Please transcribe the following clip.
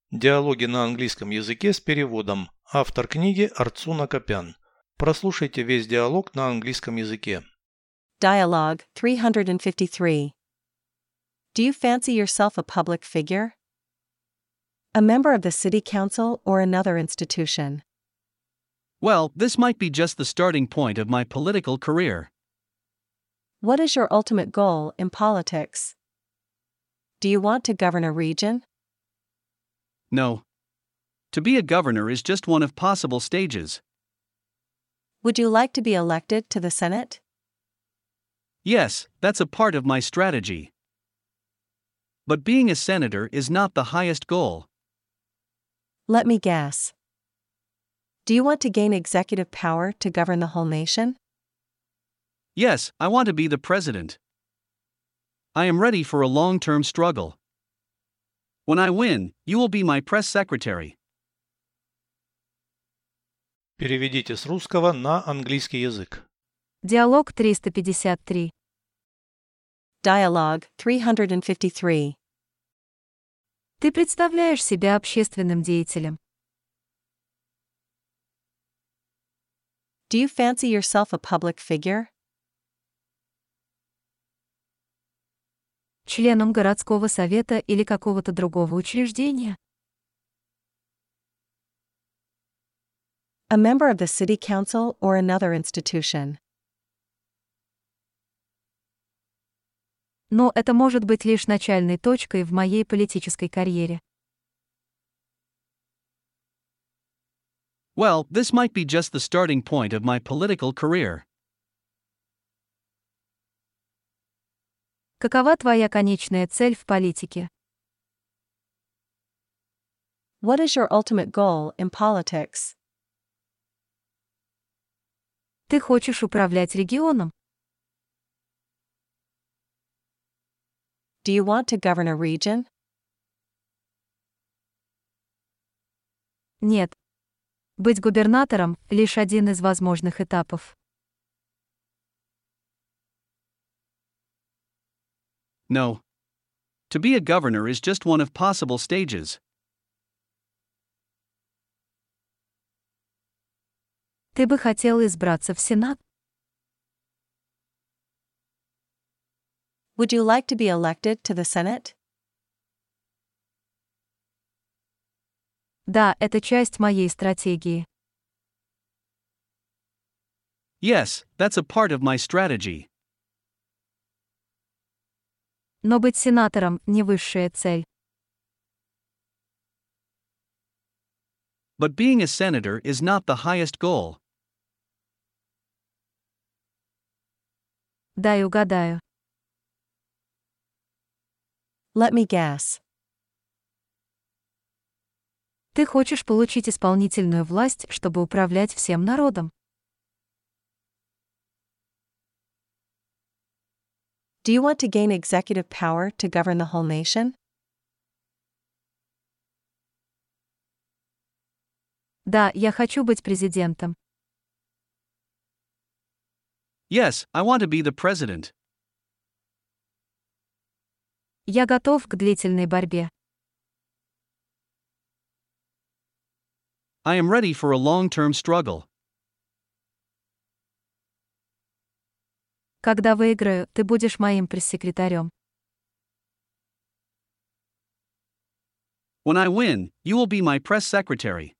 Диалоги на английском языке с переводом. Автор книги Арцуна Копян. Прослушайте весь диалог на английском языке. Dialogue 353. Do you fancy yourself a public figure? A member of the city council or another institution? Well, this might be just the starting point of my political career. What is your ultimate goal in politics? Do you want to govern a region? No. To be a governor is just one of possible stages. Would you like to be elected to the Senate? Yes, that's a part of my strategy. But being a senator is not the highest goal. Let me guess. Do you want to gain executive power to govern the whole nation? Yes, I want to be the president. I am ready for a long-term struggle. When I win, you will be my press secretary. Переведите с русского на английский язык. Диалог 353. Dialogue 353. Ты представляешь себя общественным деятелем. Do you fancy yourself a public figure? Членом городского совета или какого-то другого учреждения. A member of the city council or another institution? Но это может быть лишь начальной точкой в моей политической карьере. Well, this might be just the starting point of my political career. Какова твоя конечная цель в политике? What is your ultimate goal in politics? Ты хочешь управлять регионом? Do you want to govern a region? Нет. Быть губернатором — лишь один из возможных этапов. No. To be a governor is just one of possible stages. Ты бы хотел избраться в Сенат? Would you like to be elected to the Senate? Да, это часть моей стратегии. Yes, that's a part of my strategy. Но быть сенатором — не высшая цель. But being a senator is not the highest goal. Дай угадаю. Let me guess. Ты хочешь получить исполнительную власть, чтобы управлять всем народом. Do you want to gain executive power to govern the whole nation? Да, я хочу быть президентом. Yes, I want to be the president. Я готов к длительной борьбе. I am ready for a long-term struggle. Когда выиграю, ты будешь моим пресс-секретарем. When I win, you will be my press secretary.